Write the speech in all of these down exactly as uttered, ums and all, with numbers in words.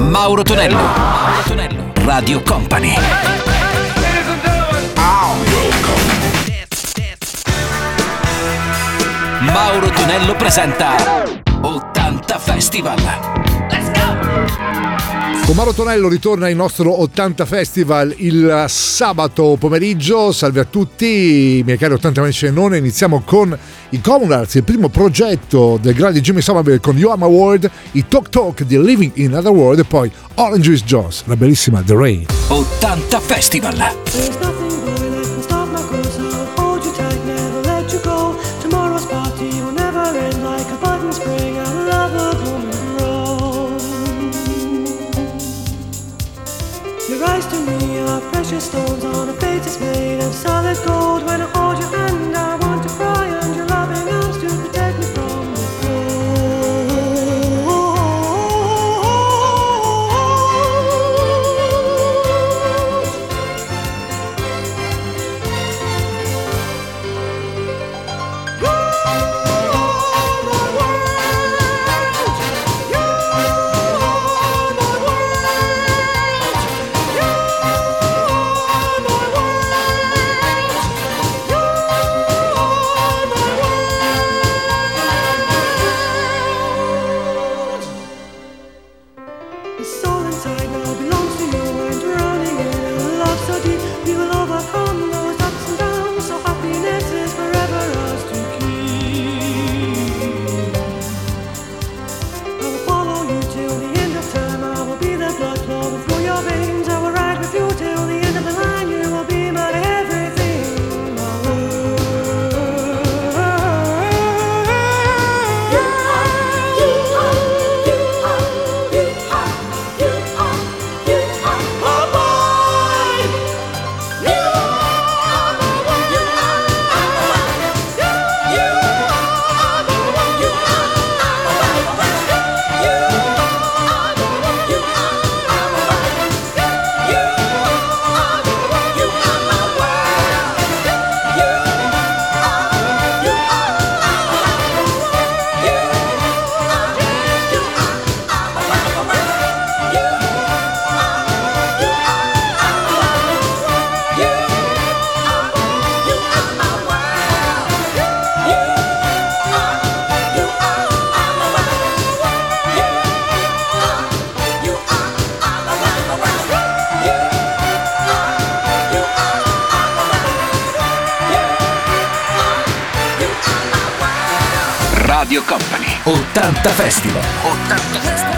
Mauro Tonello. Mauro Tonello. Radio Company. Mauro Tonello presenta ottanta Festival. Let's go! Con Mauro Tonello ritorna il nostro ottanta Festival il sabato pomeriggio. Salve a tutti, miei cari ottanta amici e non. Iniziamo con i Communards, il primo progetto del grande Jimmy Somerville con You Are My World, i Talk Talk di Living in Another World e poi Orange Juice Jones, la bellissima The Rain. ottanta Festival. Your eyes to me are precious stones on a face that's made of solid gold. When I hold your hand I want to cry, and your loving arms to protect me from the Radio Company. ottanta Festival. ottanta Festival.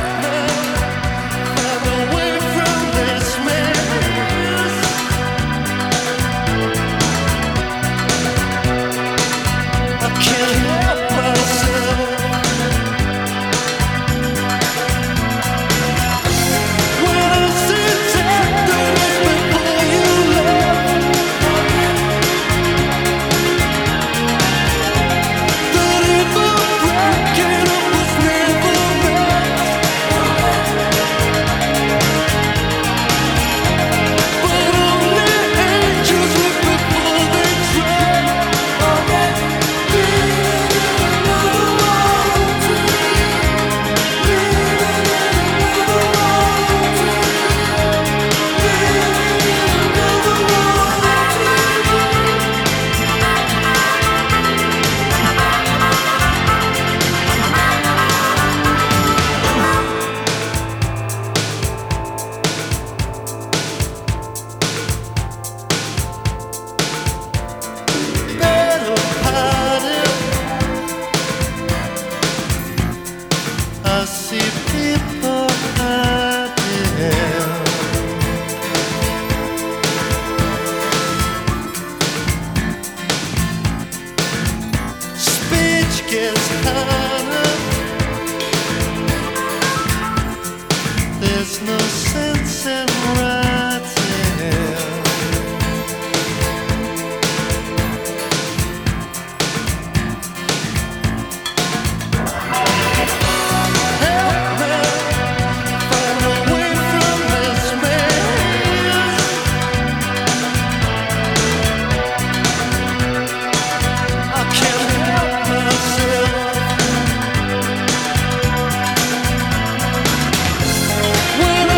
When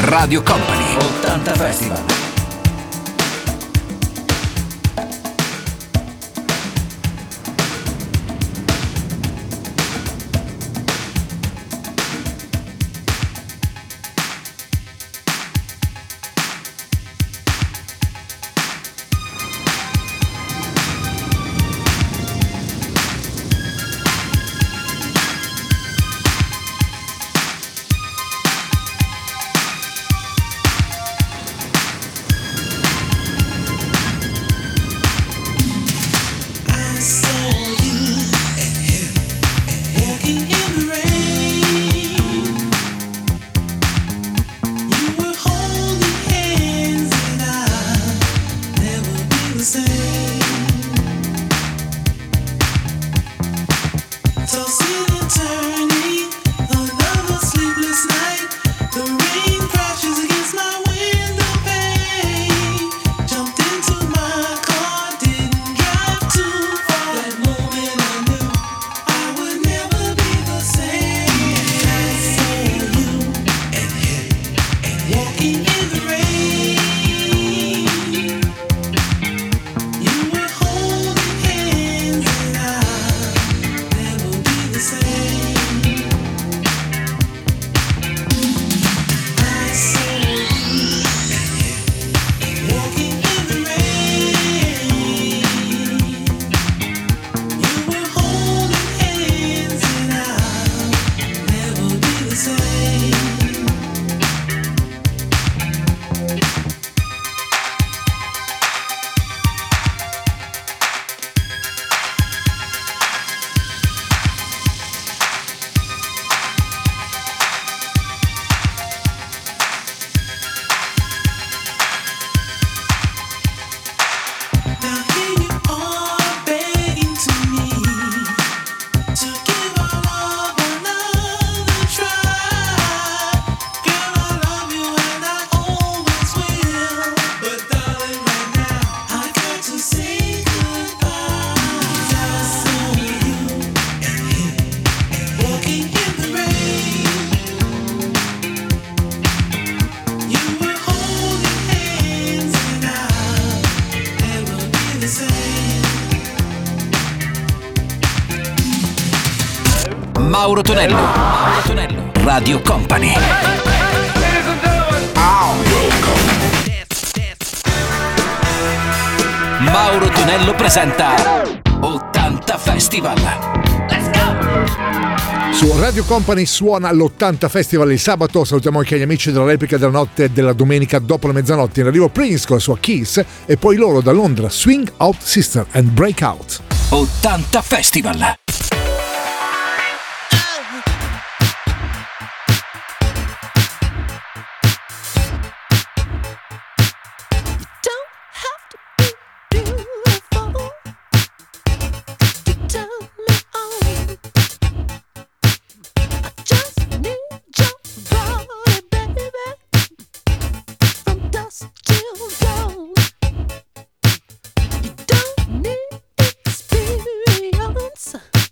Radio Company ottanta Festival. Mauro Tonello, Mauro Tonello, Radio Company. Mauro Tonello presenta ottanta Festival. Let's go! Su Radio Company suona l'ottanta Festival il sabato. Salutiamo anche gli amici della replica della notte della domenica dopo la mezzanotte. In arrivo Prince con la sua Kiss e poi loro da Londra Swing Out Sister and Breakout. ottanta Festival. Don't need experience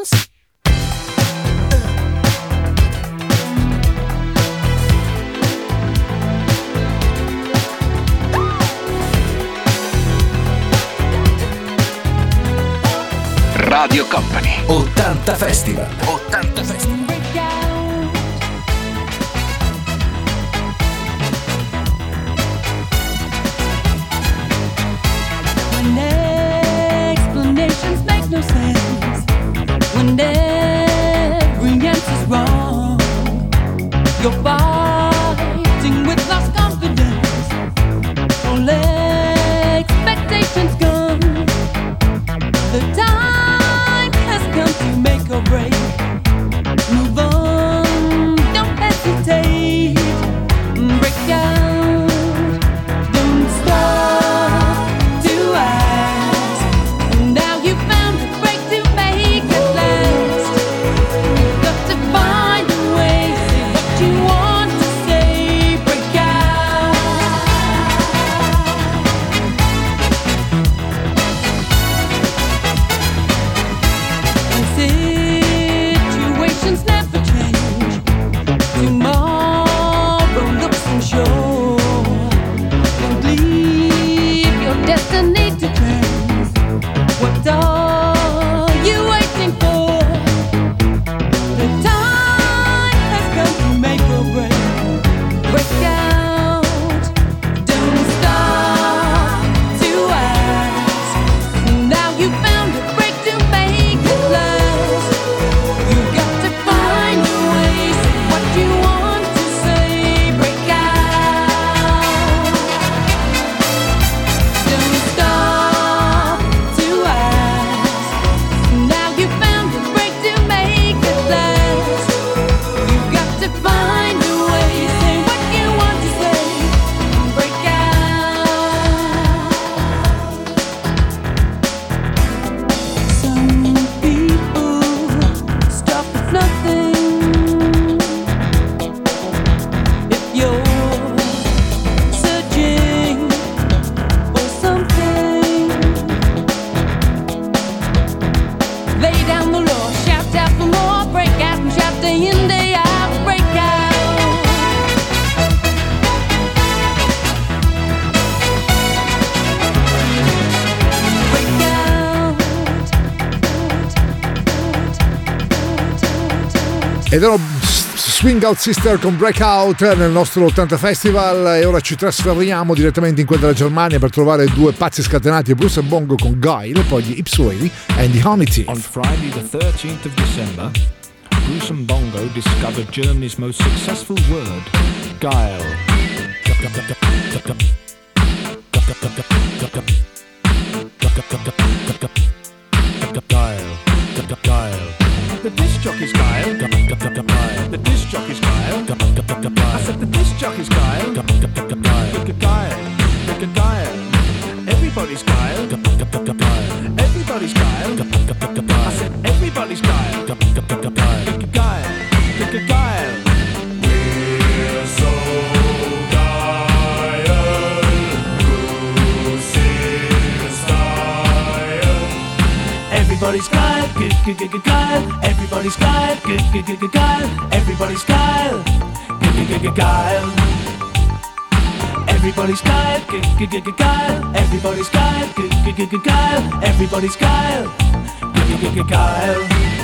Radio Company ottanta Festival. ottanta Festival. When explanations make no sense, when every answer's wrong, you're fighting with lost confidence. All expectations gone. The time has come to make or break. Move on, don't hesitate. Break out, don't stop to ask. Now you found a break to make it last. You've got to find a way, say what you want to say. Break out. Situations never change. Tomorrow looks unsure. Don't leave your destiny to chance. What are you waiting for? The time has come to make or break. Break out. Don't stop to ask. Now you found a break to make it last. You got to find a way, say what you want to say. Break out. Don't stop to ask. Now you found a break to make it last. You got to find a way, say what you want to say. Break out. Some people stop at nothing. If you're searching for something, lay down the law, shout out for more. Break out and shout day in, day out. Break out. Break out. Ed erano Swing Out Sister con Breakout nel nostro ottanta Festival, e ora ci trasferiamo direttamente in quella della Germania per trovare due pazzi scatenati, Bruce e Bongo con Guile, poi gli Ipsway and the Honey Thief. On Friday, the thirteenth of December, Bruce and Bongo discovered Germany's most successful word, guile. Guile. Guile. The disc jockey's guile. The disc jockey's guile. I said the disc jockey's guile. Guile. Guile. Everybody's guile. Everybody's guile. I said everybody's guile. Guile. Guile. We're so guile. Bruce is style. Everybody's guile. Guile. Everybody's guile. Guile. Everybody's guile. Guile. Everybody's guile, guile. Everybody's guile, guile. Everybody's guile, guile.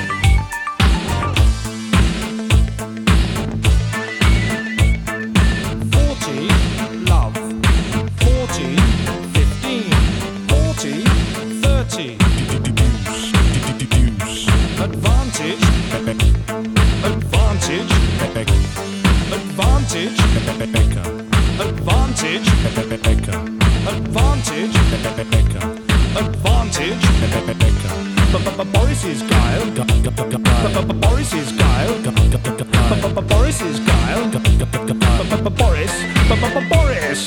Forty, love. Forty, fifteen. Forty, thirty. Advantage, advantage, advantage, advantage, advantage, advantage, Boris is guile, Boris is guile, Boris is guile, Boris, Boris,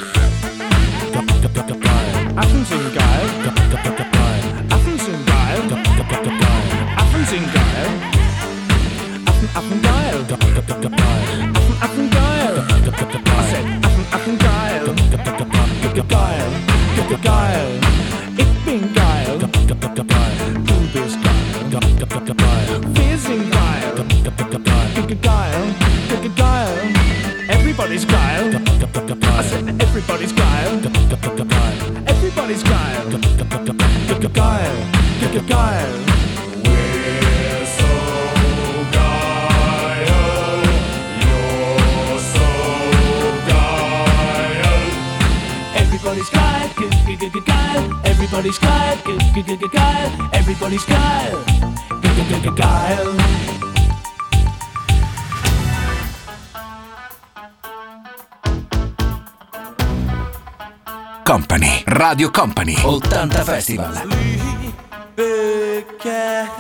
Athens in guile, Athens in guile, Athens in guile, Athens, Athens guile, Athens, Athens guile. I said Athens, Athens guile, guile, guile. Ich bin geil, du bist geil. Guile. We're so guile, you're so guile. Everybody's Guile, g- g- g- g- Guile. Everybody's Guile, g- g- g- g- Guile. Everybody's Guile, g- g- g- g- Guile. Company, Radio Company, ottanta Festival. Big cat,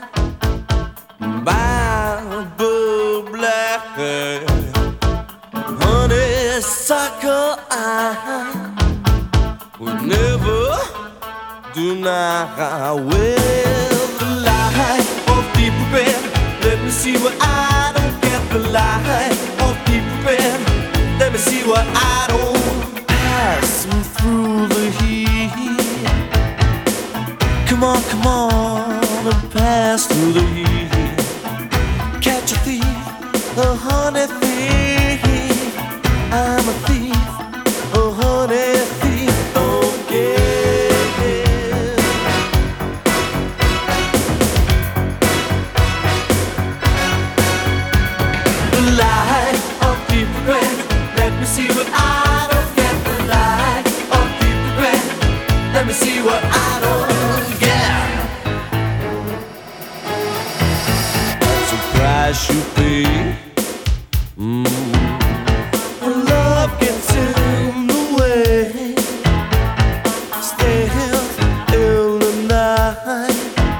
Bible black, honeysuckle eye, would never deny. With the light of deep red, let me see what I don't get. The light of deep red, let me see what I don't pass through the heat. Come on, come on, and pass through the heat. Catch a thief, a honey thief. I'm a thief, a honey thief. Okay. The light of deep red, let me see what I don't get. The light of deep red, let me see what I don't get. That's a price you pay. Mm. When love gets in the way, stealth in the night.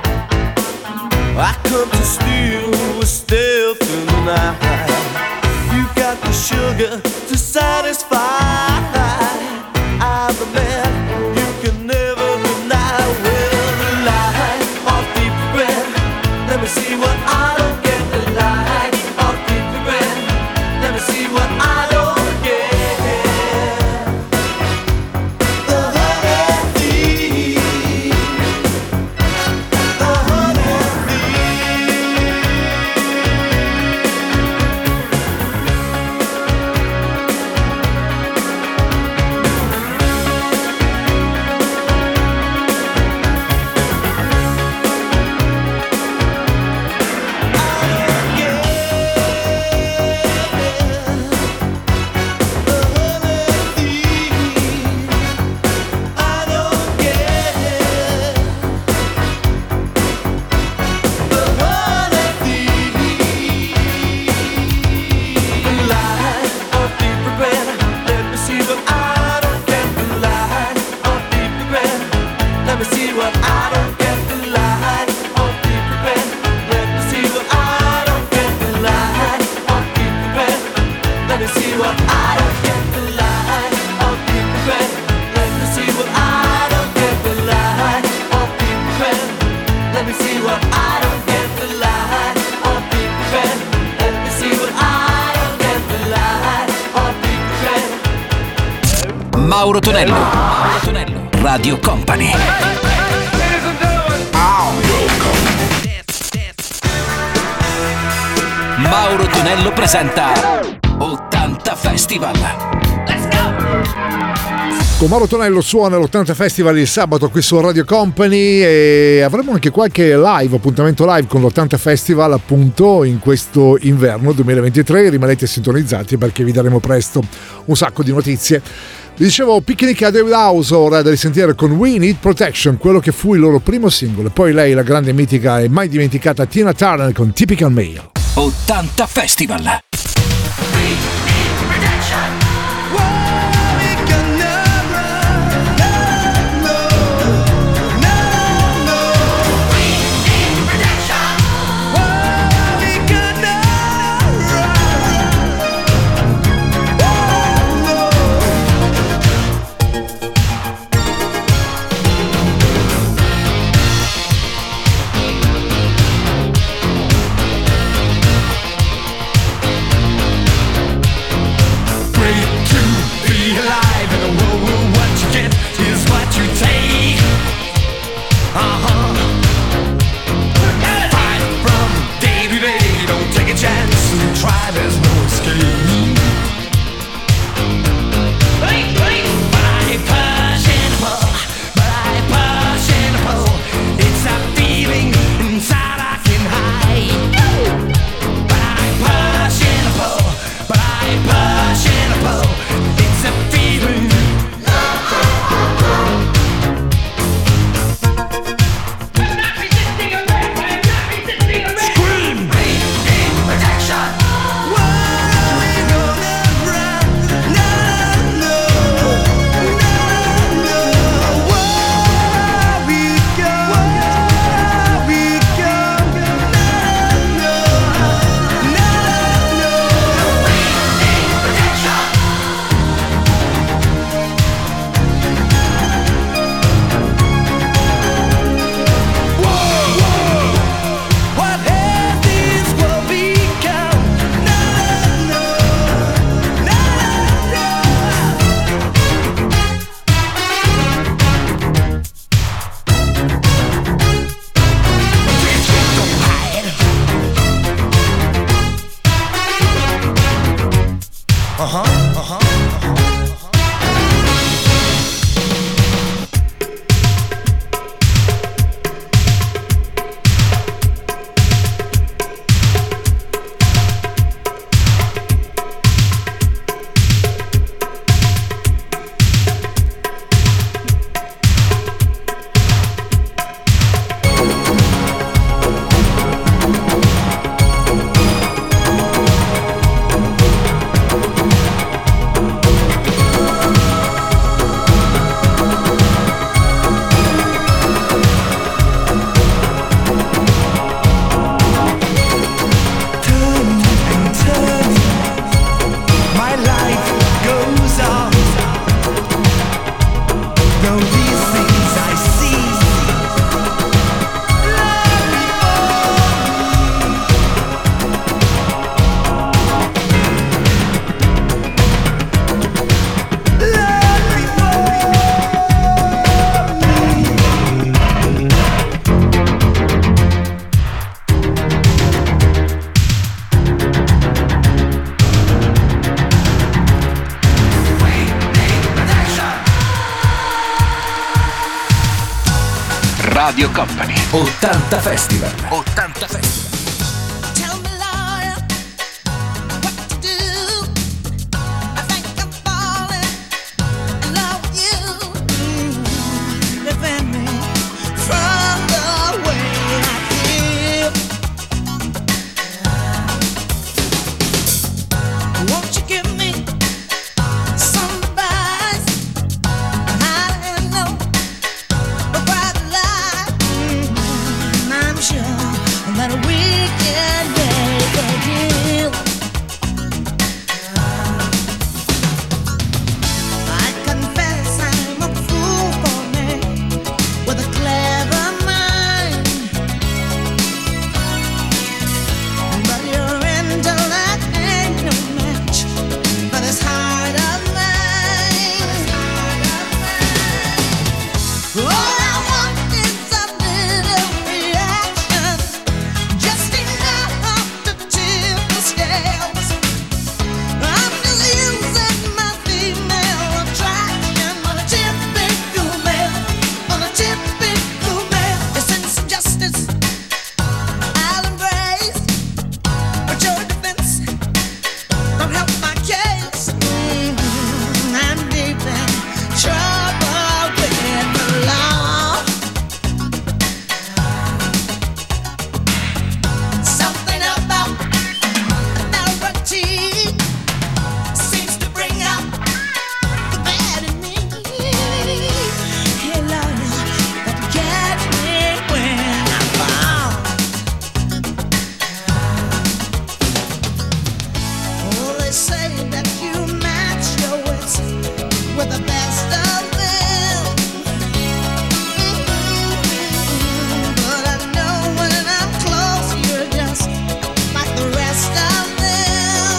I come to steal with stealth in the night. You got the sugar to satisfy. I'm the man you can never deny. Well, the light of deep red, let me see what I don't get. The light of deep red, let me see what I don't get. The honey thief, the honey thief. Let me see what I don't get. The light of deep red, let me see what I don't get. The light of deep red, let me see what I don't get. The light of deep red, let me see what I don't get. The light of deep red, let me see what I don't get. The light of deep red, let me see what I don't get. The light of deep red. Mauro Tonello, Mauro Tonello, Radio Company. Mauro Tonello presenta ottanta Festival. Let's go! Con Mauro Tonello suona l'ottanta Festival il sabato qui su Radio Company e avremo anche qualche live, appuntamento live con l'ottanta Festival appunto in questo inverno duemilaventitré. Rimanete sintonizzati perché vi daremo presto un sacco di notizie. Vi dicevo Picnic a David House, ora da risentire con We Need Protection, quello che fu il loro primo singolo. Poi lei, la grande mitica e mai dimenticata Tina Turner con Typical Male. ottanta Festival. We'll be right back. Radio Company. ottanta Festival. ottanta Festival. Tell me, lawyer, what to do. I think I'm falling in love with you. Mm, defend me from the way I feel. Won't you give me some advice on how to handle a bright light? Mm, I'm sure that we can make a deal. I confess I'm a fool for me with a clever mind, but your intellect ain't no match for this heart of mine. All I want is a little reaction, just enough to tip the scales. I'm just using my female attraction on a typical male, on a typical male. Your sense of justice I'll embrace, but your defense don't help my case. Mhm, I'm deep in trouble with the law. Something about authority seems to bring out the bad in me. Hey, lawyer, but catch me when I fall. Oh, they say that you match your wits with the best of them. But I know when I'm close, you're just like the rest of them.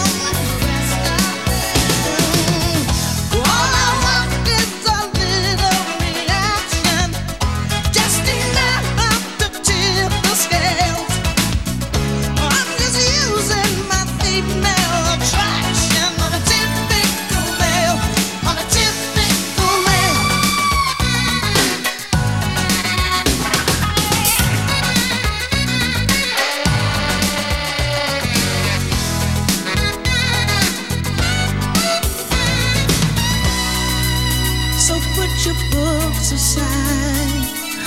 All I want is a little reaction, just enough to tip the scales. I'm just using my female attraction on a typical male, on a typical male. So put your books aside,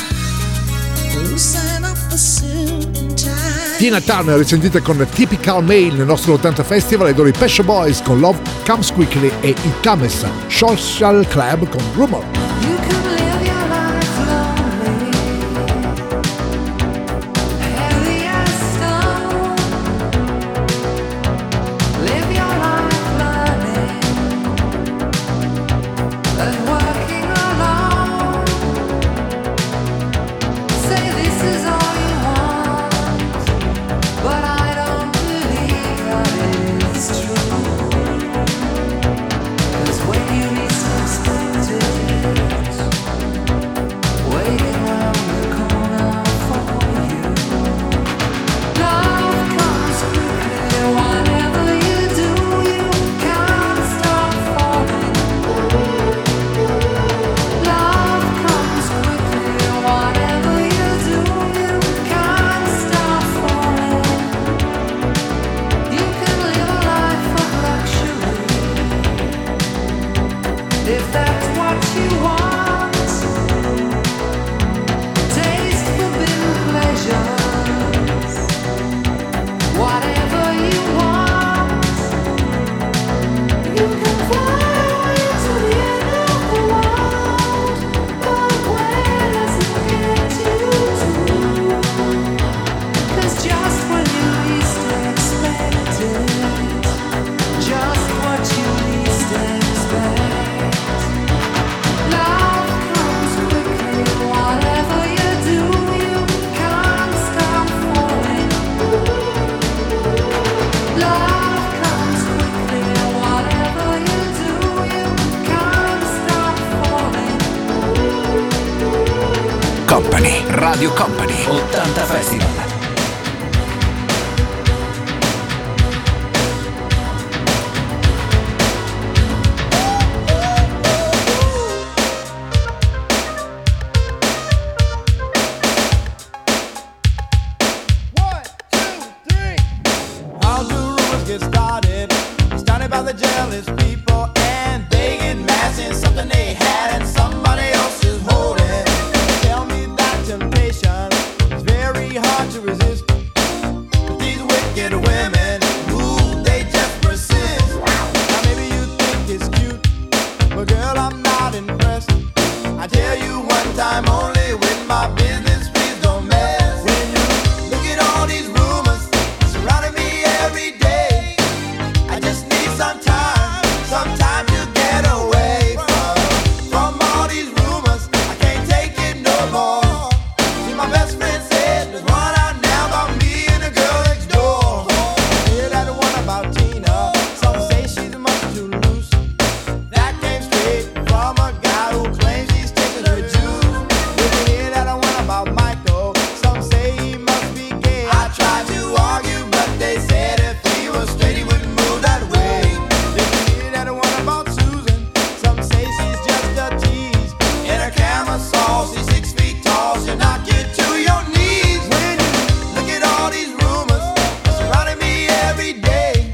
loosen up the suit and tie. Tina Turner, risentite con Typical Male nel nostro ottanta Festival, ed ora i Pet Shop Boys con Love Comes Quickly e i Tames Social Club con Rumor. You can live your life lonely, heavy as stone. Live your life learning and working alone. Say this is all you want, but I don't believe that it's true. 'Cause when you least expect it, waiting round the corner for you. Love comes quickly, whatever you do, you can't stop falling. Love comes quickly, whatever you do, you can't stop falling. You can live a life of luxury if that's what you want. Taste forbidden pleasures, whatever you want. You can fly away to the end of the world, but where does it get you to? 'Cause just when you least expect it, just what you least expect. Love comes quickly, whatever you do, you can't stop falling. Love comes quickly, whatever you do, you can't stop falling. Company, Radio Company, ottanta Festival. get started. Started by the jealous people, and they get mad in something they had and somebody else is holding. Tell me that temptation is very hard to resist. But these wicked women, ooh, they just persist. Now maybe you think it's cute, but girl, I'm not impressed. I tell you one time only, with my business, please don't mess. When you look at all these rumors surrounding me every day, I just need some time, some time to get away from, from all these rumors. I can't take it no more. See, my best friend said there's one out now about me and the girl next door. Hear that one about Tina, some say she's much too loose. That came straight from a guy who claims he's taking her juice. Did you hear that one about Michael? Some say he must be gay. I tried to argue, but they said if he was straight he wouldn't move that way. Did you hear that one about Susan? Some say she's just a tease. In her camisole, she's six feet tall. She'll knock you to your knees. When you look at all these rumors surrounding me every day,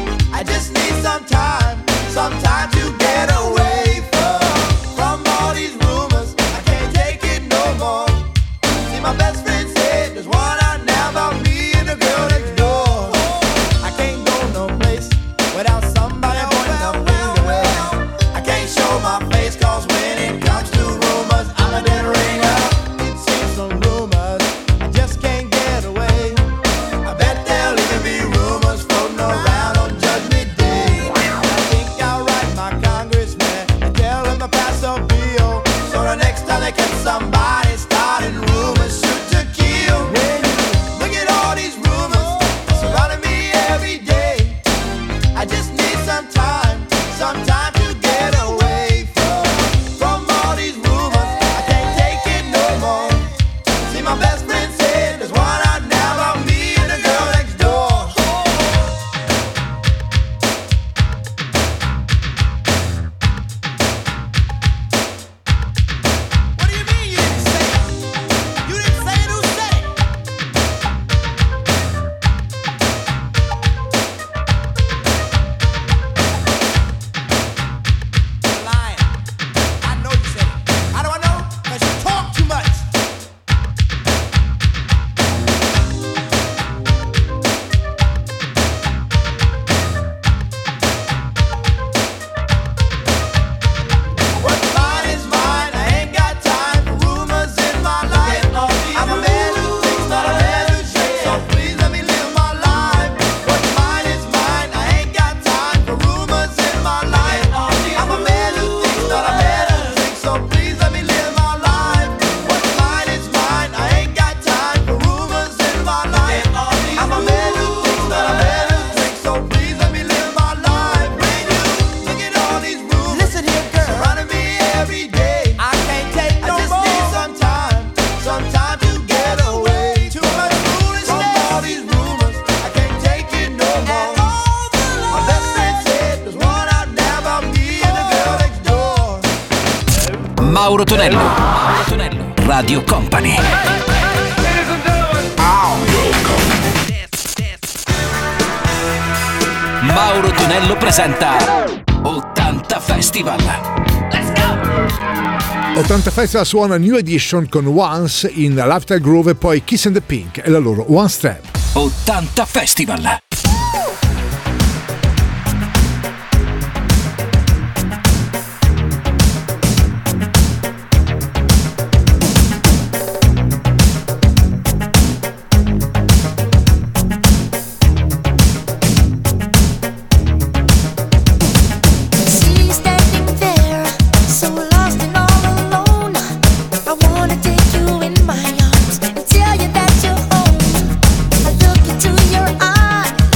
I just need some time, some time to get away from, from all these rumors. I can't take it no more. See, my best friend said there's one out now about me and the girl next door. I can't go no place without somebody pointing a finger. I can't show my face, cause when it comes to rumors, I'm a dead ringer. It seems some rumors, I just can't get away. I bet there'll even be rumors floating around on Judgment Day. I think I'll write my congressman and tell him to pass a bill, so the next time they catch somebody starting rumors, shoot to kill. When you look at all these rumors surrounding me every day, I just need some time, some time to get away from, from all these rumors. I can't take it no more. See, my best friend said there's one out now about me and the girl next door. What do you mean you didn't say it? You didn't say it, who said it? You're lying. I know you said it. How do I know? Because you talk too much. What's mine is mine. I ain't got time for rumors in my life. I'm a man who thinks, not a man who shakes. So please let me live my life. What's mine is mine. I ain't got time for rumors in my life. I'm a man who thinks, not a man who shakes. So please let me live my life. What's mine is mine. I ain't got time for rumors in my life. I'm a man who thinks, not a man who drinks. So please let me live my life. When you look at all these rumors, listen here, girl, surrounding me every day, I can't take no more. I just need some time, some time to get away. Too much foolishness from all these rumors. I can't take it no more. My best friend said there's one out now about me and the girl next door. Mauro Tonello, Mauro Tonello, Radio Company. Mauro Tonello presenta ottanta Festival. Let's go! ottanta Festival suona New Edition con Once in Lifestyle Groove e poi Kiss and the Pink e la loro One Step. ottanta Festival. See you standing there, so lost and all alone. I wanna take you in my arms and tell you that you're home. I look into your eyes.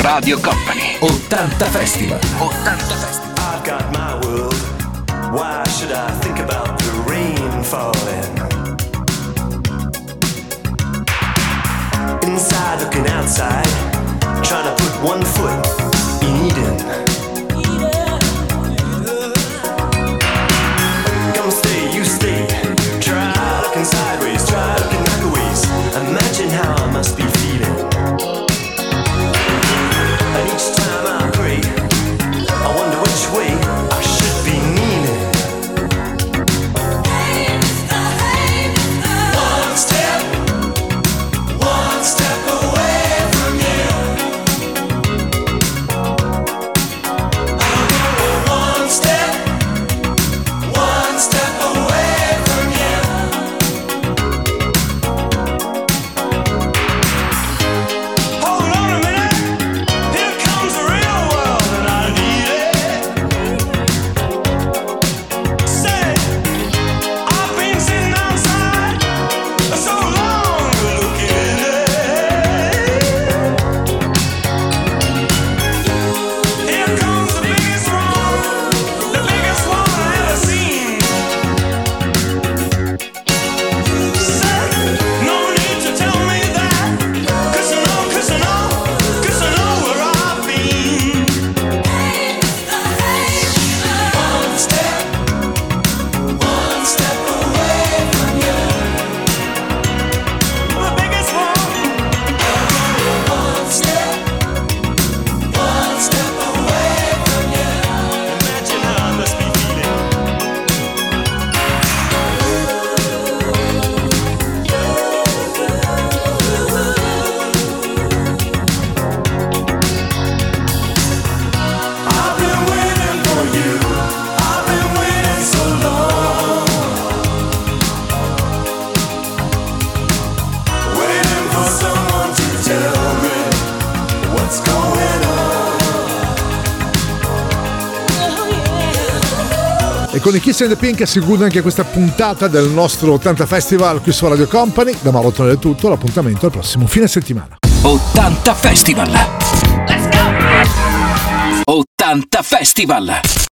Radio Company. ottanta Festival. ottanta Festival. I've got my world. Why should I think about the rain falling? Inside looking outside, trying to put one foot in Eden. Come stay, you stay. Try looking sideways, try looking backwards. Imagine how I must be feeling. And each time I pray, I wonder which way I should be leaning. One step, one step away from you. I'm going one step, one step away from you. Hold on a minute, here comes the real world and I need it. Say, I've been sitting outside so long looking in. Here comes the biggest one, the biggest one I ever seen. Say, no need to tell me that, 'cause I know, 'cause I know, 'cause I know where I've been. One step, one step away from you. The biggest one. One step, one step away from you. Imagine how I must be feeling. I've been waiting for you. I've been waiting so long. Waiting for someone to tell me what's going on. E con i Kiss and the Pink si chiude anche questa puntata del nostro ottanta Festival qui su Radio Company. Da Mauro Tonello è tutto, l'appuntamento al prossimo fine settimana. ottanta Festival. Let's go! ottanta Festival.